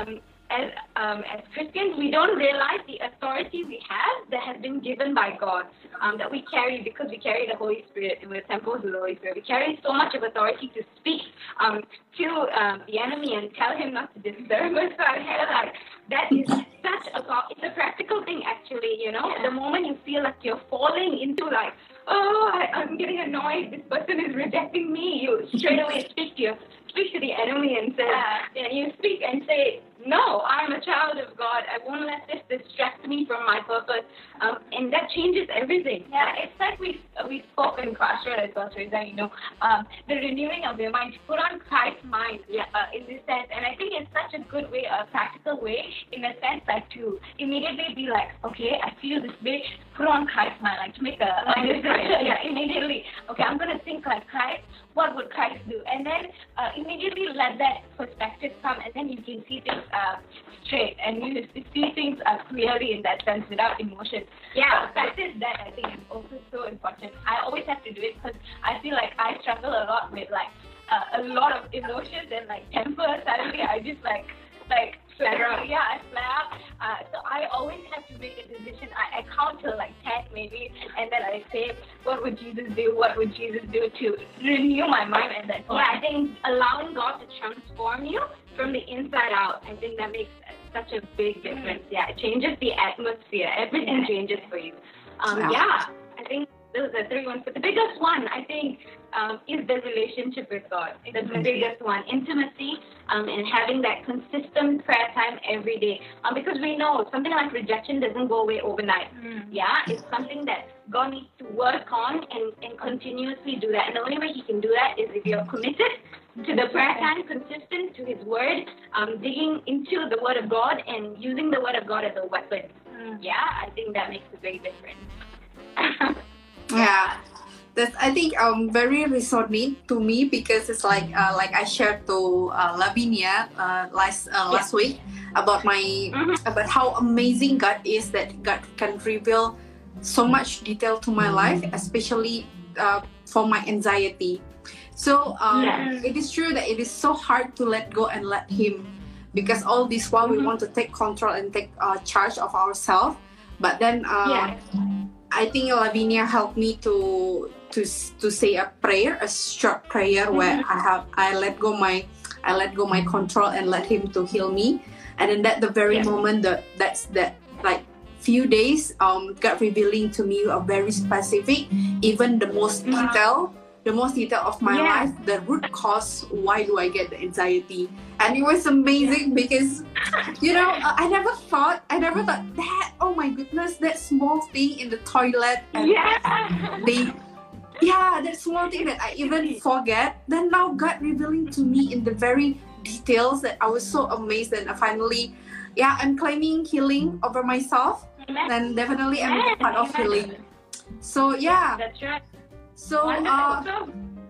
as um, as Christians, we don't realize the authority we have that has been given by God, um, that we carry because we carry the Holy Spirit. We're temples of the Holy Spirit. We carry so much of authority to speak um, to um, the enemy and tell him not to disturb us. So I feel like that is such a it's a practical thing, actually. You know, the moment you feel like you're falling into like, oh, I, I'm getting annoyed. This person is rejecting me. You straight away speak to your, speak to the enemy and say, uh, and you speak and say, no, I'm a child of God. I won't let this distract me from my purpose. Um, and that changes everything. Yeah, it's like we we spoke in Crossroad as well, Teresa, you know, um, the renewing of your mind, to put on Christ's mind yeah, uh, in this sense. And I think it's such a good way, a practical way, in a sense, like to immediately be like, okay, I feel this way, put on Christ's mind, like to make a, a decision. Yeah, immediately. Okay, I'm going to think like Christ. What would Christ do? And then uh, immediately let that perspective come, and then you can see things uh, straight, and you see things uh, clearly in that sense without emotion. Yeah, practice that I think is also so important. I always have to do it because I feel like I struggle a lot with like uh, a lot of emotions and like temper. Suddenly I just like like flare out. Yeah, I flare out. Uh, so I always have to make a decision. I, I count till like ten maybe, and then I say, what would Jesus do? What would Jesus do to renew my mind at that point? Yeah, I think allowing God to transform you from the inside out, I think that makes such a big difference. Mm-hmm. Yeah, it changes the atmosphere. Everything changes for you. Um, yeah. yeah, I think those are three ones. But the biggest one, I think, um, is the relationship with God. That's the biggest one. Intimacy um, and having that consistent prayer time every day. Um, because we know something like rejection doesn't go away overnight. Mm. Yeah, it's something that God needs to work on and, and continuously do that. And the only way He can do that is if you're committed to the prayer time, consistent to His Word, um, digging into the Word of God and using the Word of God as a weapon. Mm. Yeah, I think that makes a big difference. Yeah, that's I think um very resonate to me because it's like uh, like I shared to uh, Lavinia uh, last uh, last yeah. week about my mm-hmm. about how amazing God is, that God can reveal so much detail to my life, especially uh, for my anxiety. So um, yeah. it is true that it is so hard to let go and let Him, because all this while mm-hmm. we want to take control and take uh, charge of ourselves, but then. Uh, yeah. I think Lavinia helped me to to to say a prayer, a short prayer mm-hmm. where I have I let go my I let go my control and let Him to heal me, and then that the very yeah. moment that that's that like few days um God revealing to me a very specific, even the most detail, the most detail of my yeah. life, the root cause why do I get the anxiety, and it was amazing because you know I never thought I never thought that oh my goodness, that small thing in the toilet and yeah. they yeah that small thing that I even forget, then now God revealing to me in the very details that I was so amazed, and I finally yeah I'm claiming healing over myself, and definitely I'm a part of healing. So yeah, that's right. So uh,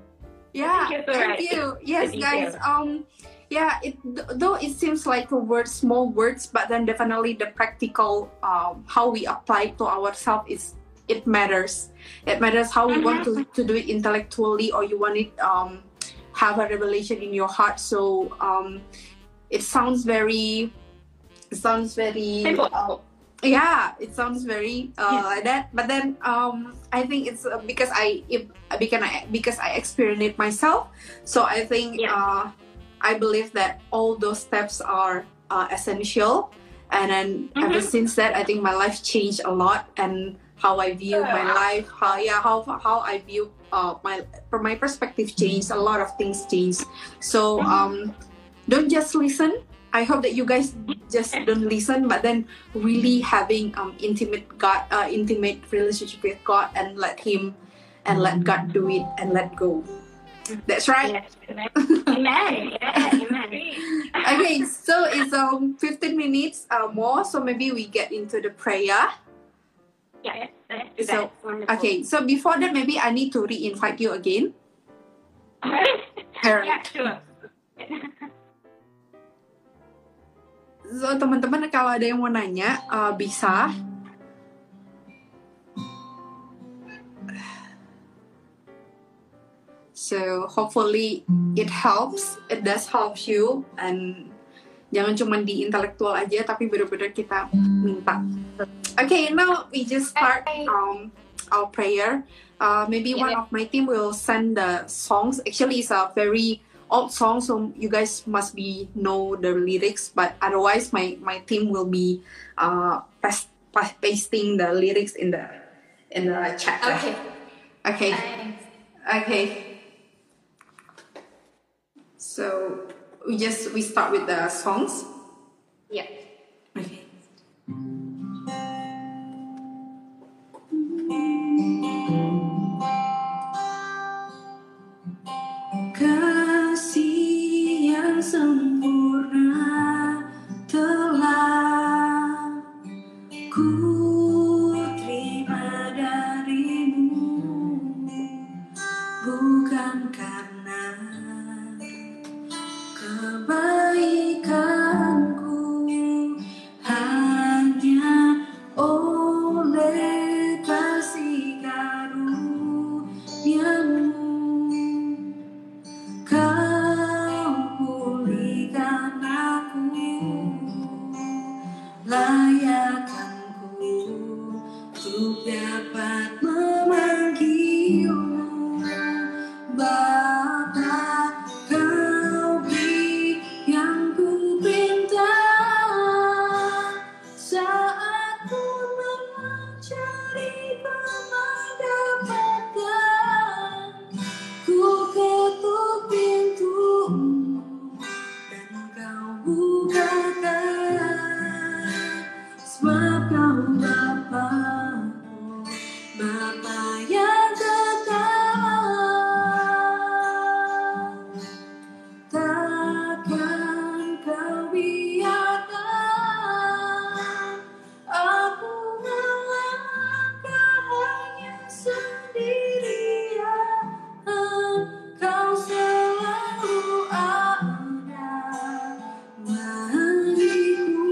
yeah, thank you. Yes, guys. Um, yeah. It though it seems like a word, small words, but then definitely the practical um how we apply it to ourselves is it matters. It matters how we want to, to do it intellectually, or you want it um have a revelation in your heart. So um, it sounds very, it sounds very. Uh, Yeah, it sounds very uh, yes. like that. But then um, I think it's uh, because I if, because I because I experienced it myself. So I think yeah. uh, I believe that all those steps are uh, essential. And then mm-hmm. ever since that, I think my life changed a lot, and how I view my life, how yeah, how how I view uh, my from my perspective changed. A lot of things changed. So um, don't just listen. I hope that you guys just don't listen, but then really having um intimate God, uh, intimate relationship with God, and let Him, and let God do it, and let go. That's right. Yes. Amen. Yeah, amen. Okay, so it's um fifteen minutes uh, more, so maybe we get into the prayer. Yeah. Let's do so that. okay, so before that, maybe I need to re-invite you again. Yeah, sure. So teman-teman, kalau ada yang mau nanya uh, bisa. So hopefully it helps. It does help you, and Jangan cuma di intelektual aja, tapi benar-benar kita minta. Okay, now we just start um, our prayer. Uh, maybe Yeah. one of my team will send the songs. Actually, it's a very old song, so you guys must be know the lyrics. But otherwise, my my team will be uh, pas- pas- pasting the lyrics in the in the chat. Okay. Okay. Thanks. Okay. So we just we start with the songs. Yeah. Okay. Kasih yang sempurna telah ku terima darimu, bukan karena kebaikanku, hanya oleh kasih karuniamu kau pulihkan aku, layakkanku untuk dapat memanggilmu Bapa. Kau beri yang ku pinta saat ku mencari mendapatkan. Ku ketuk pintumu dan kau bukakan, sebab kau Bapa-ku, Bapa yang kekal. Takkan kau biarkan aku melangkah hanya sendirian. Kau selalu ada bagiku,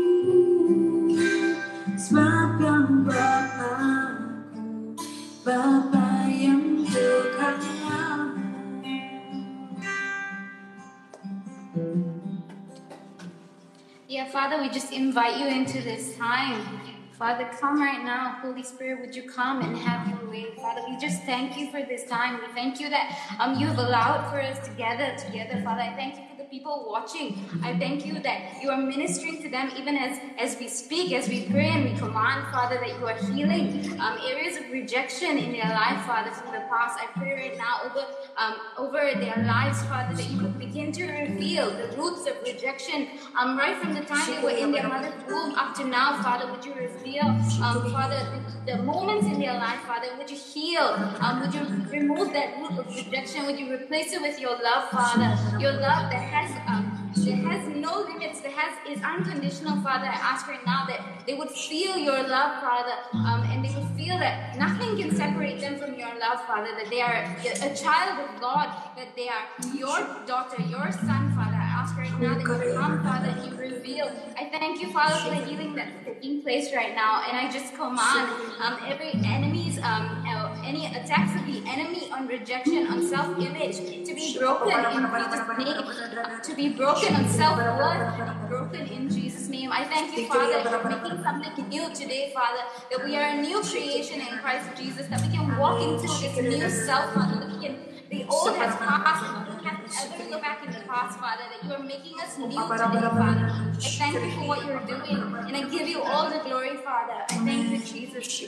sebab kau Bapa-ku, Bapa yang kekal. Yeah, Father, we just invite you into this time. Father, come right now. Holy Spirit, would you come and have your way? Father, we just thank you for this time. We thank you that um, you have allowed for us to gather together. Father, I thank you for the people watching. I thank you that you are ministering to them even as, as we speak, as we pray and we command, Father, that you are healing um, areas of rejection in their life, Father, from the past. I pray right now over, um, over their lives, Father, that you would begin to reveal the roots of rejection um, right from the time they were in their mother's womb up to now, Father. Would you reveal, um, Father, the, the moments in their life, Father? Would you heal? Um, would you remove that root of rejection? Would you replace it with your love, Father? Your love that has um, that has no limits, that has is unconditional, Father. I ask right now that they would feel your love, Father, um, and they would feel that nothing can separate them from your love, Father. That they are a child of God, that they are your daughter, your son, Father. I ask right now that you come, Father, and you reveal. I thank you, Father, for the healing that's taking place right now, and I just command um, every enemy's um, uh, any attacks of the enemy on rejection, on self-image, to be broken in Jesus' name, to be broken on self-worth, to be broken in Jesus' name. I thank you, Father, that you're making something new today, Father, that we are a new creation in Christ Jesus, that we can walk into this new self, Father, that we can, the old has passed, and we don't have to ever go back in the past, Father, that you are making us new today, Father. I thank you for what you're doing, and I give you all the glory, Father. I thank you, Jesus.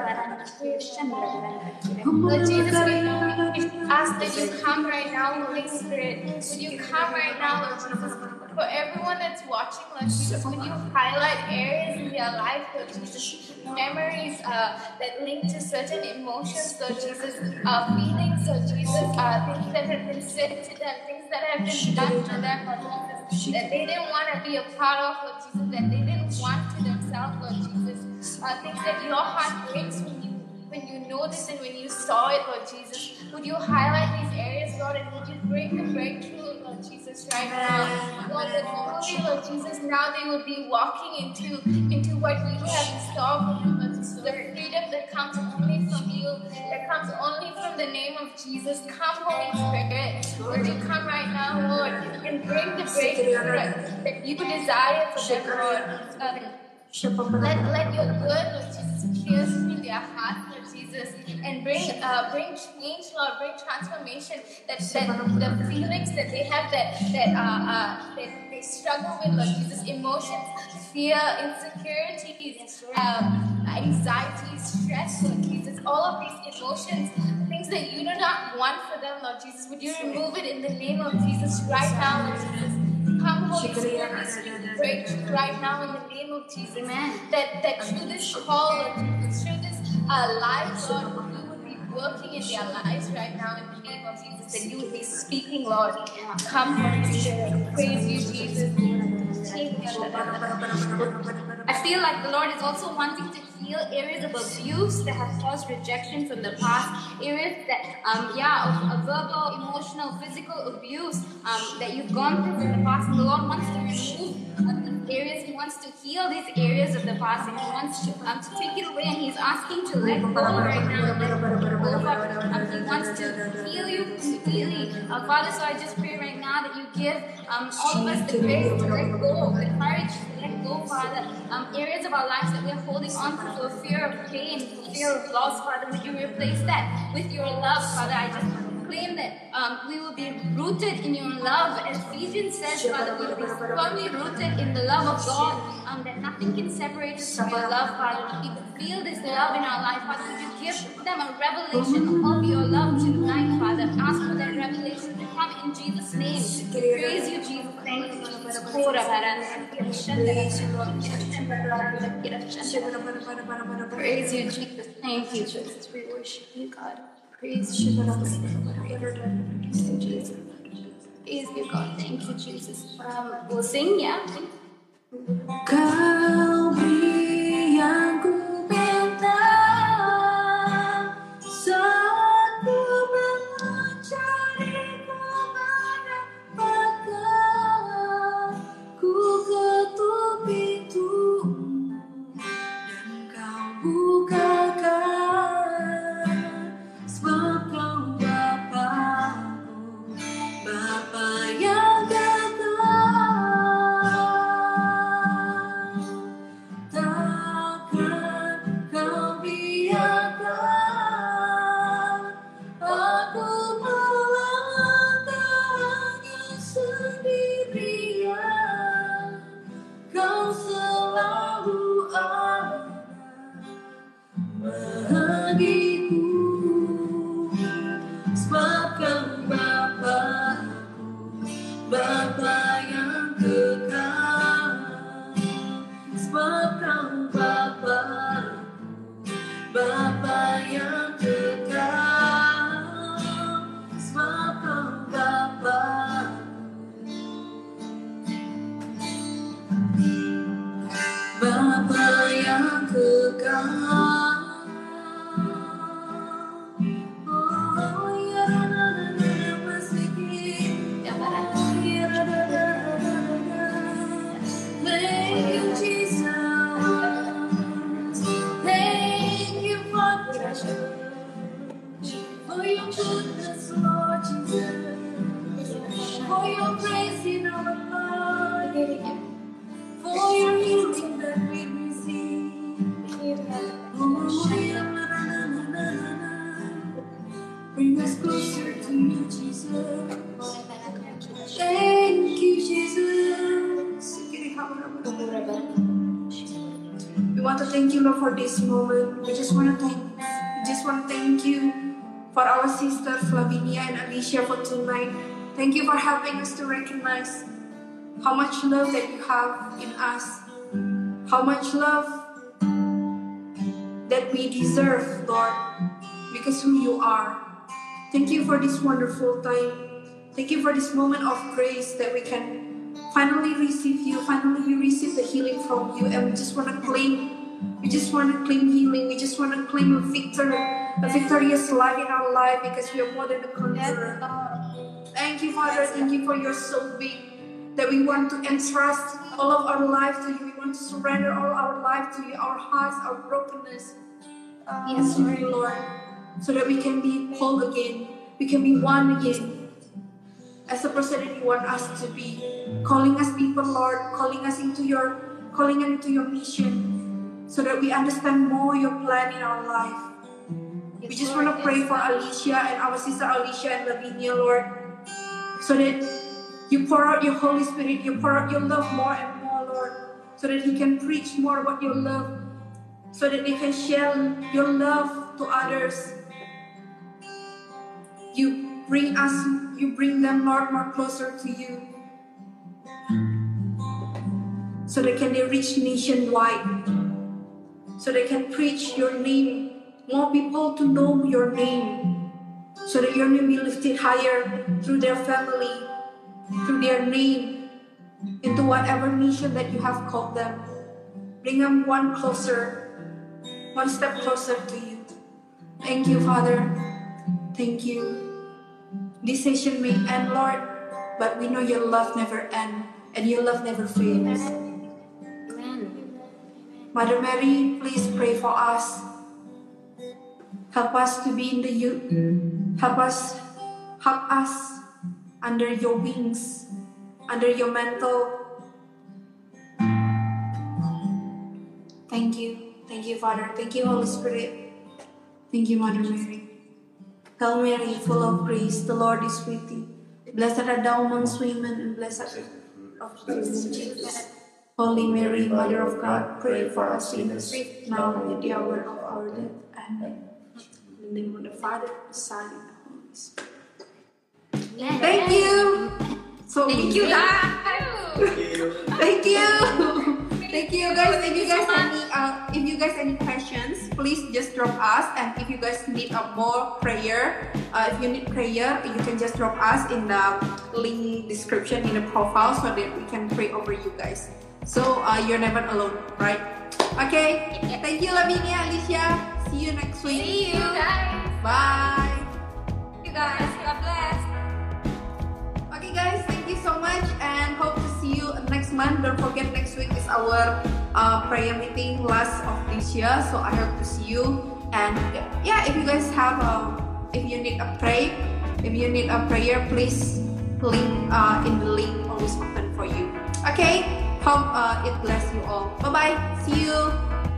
Lord Jesus, we ask that you come right now, Holy Spirit. Would you come right now, Lord Jesus? For everyone that's watching, Lord Jesus, would you highlight areas in their life, Lord Jesus, memories uh, that link to certain emotions, Lord Jesus, uh, feelings, Lord Jesus, uh, things that have been said to them, things that have been done to them, Lord Jesus, that they didn't want to be a part of, Lord Jesus, that they didn't want to themselves, Lord Jesus, uh, things that your heart breaks when you when you noticed and when you saw it, Lord Jesus. Would you highlight these areas, Lord, and would you bring the breakthrough, Lord Jesus, right now? Lord, that truly, Lord Jesus, now they will be walking into, into what you have in store for them, Lord Jesus. The freedom that comes only from you, that comes only from the name of Jesus. Come, Holy Spirit. would you come right now, Lord, and bring the breakthrough that you desire for them, Lord. Um, let, let your word, Lord Jesus, pierce through their hearts, Lord Jesus, and bring uh, bring change, Lord, bring transformation. That, that the feelings that they have that that uh, uh, that they struggle with, Lord Jesus, emotions, fear, insecurities, um, anxiety, stress, Lord Jesus, all of these emotions, things that you do not want for them, Lord Jesus, would you remove it in the name of Jesus right now, Lord Jesus. Come, Holy Spirit, we speak breakthrough right now in the name of Jesus. Amen. That, that through this call, Lord, through this uh, life, Lord, you would be working in their lives right now in the name of Jesus. That you would be speaking, Lord. Come, Holy Spirit. Praise you, Jesus. I feel like the Lord is also wanting to heal areas of abuse that have caused rejection from the past, areas that, um, yeah, of, of verbal, emotional, physical abuse um, that you've gone through from the past. And the Lord wants to remove uh, these areas. He wants to heal these areas of the past, and He wants to, um, to take it away. And He's asking to let go right now. And let go. Um, he wants to heal you completely, uh, Father. So I just pray right now that you give um, all of us the grace to let go, the courage to let go, Father. Um, areas of our lives that we're holding on to for fear of pain, for fear of loss, Father, would you replace that with your love, Father? I just claim that um, we will be rooted in your love. As Ephesians says, Father, we will be firmly rooted in the love of God, um, that nothing can separate us from your love, Father. We can feel this love in our life, Father. Would you give them a revelation of your love tonight, Father? Ask for that revelation to come in Jesus' name. Praise you, Jesus. Thank you, Jesus. Praise you, Jesus. Thank you, Jesus. We worship you, God. Praise you, Jesus. Praise you, Jesus. Praise you, God. Thank you, Jesus. Um, we'll sing, yeah? Kau beri yang ku minta saat ku mencari kemana maka ku ketuk pintumu dan kau bukakan sebab kau Bapa-Ku, Bapa yang Bapa yang kekal, sebab kau Bapa-Ku, Bapa yang kekal, sebab kau Bapa-Ku, Bapa yang kekal. For your goodness, Lord Jesus, for your grace in our life, for your healing that we receive. Bring us closer to you, Jesus. Thank you, Jesus. We want to thank you, Lord, for this moment. We just want to thank we just want to thank you for our sisters Flavinia and Alicia for tonight. Thank you for helping us to recognize how much love that you have in us, how much love that we deserve, Lord, because who you are. Thank you for this wonderful time. Thank you for this moment of grace that we can finally receive you, finally we receive the healing from you, and we just want to claim We just want to claim healing. We just want to claim a victory, a victorious life in our life because we are more than a conqueror. Thank you, Father. Thank you for your so big that we want to entrust all of our life to you. We want to surrender all our life to you, our hearts, our brokenness. Yes, Lord, so that we can be whole again. We can be one again. as a person that you want us to be, calling us people, Lord, calling us into your, calling us into your mission, so that we understand more your plan in our life. We just want to pray for Alicia and our sister Alicia and Lavinia, Lord, so that you pour out your Holy Spirit, you pour out your love more and more, Lord, so that he can preach more about your love, so that they can share your love to others. You bring us, you bring them, Lord, more closer to you, so that can they reach nationwide, so they can preach your name, more people to know your name, so that your name be lifted higher through their family, through their name, into whatever mission that you have called them. Bring them one closer, one step closer to you. Thank you, Father. Thank you. This session may end, Lord, but we know your love never ends and your love never fades. Amen. Mother Mary, please pray for us. Help us to be in the youth. Help us, help us under your wings, under your mantle. Thank you. Thank you, Father. Thank you, Holy Spirit. Thank you, Mother Mary. Hail Mary, full of grace, the Lord is with thee. Blessed art thou amongst women, and blessed of Jesus. Holy Mary, Mother of God, pray for us sinners, now and at the hour of our death. Amen. In the name of the Father, the Son, and the Holy Spirit. Yes. Thank you. So Thank you, guys. Thank you. Thank you, guys. If you guys any, uh, if you guys any questions, please just drop us. And if you guys need a more prayer, uh, if you need prayer, you can just drop us in the link description in the profile, so that we can pray over you guys. So uh, you're never alone, right? Okay. Thank you, Lavinia, Alicia. See you next week. See you guys. Bye. You guys. God bless. Okay, guys. Thank you so much, and hope to see you next month. Don't forget, next week is our uh, prayer meeting, last of this year. So I hope to see you. And yeah, if you guys have, a, if you need a pray, if you need a prayer, please link uh, in the link always open for you. Okay. Hope uh, it bless you all. Bye bye. See you.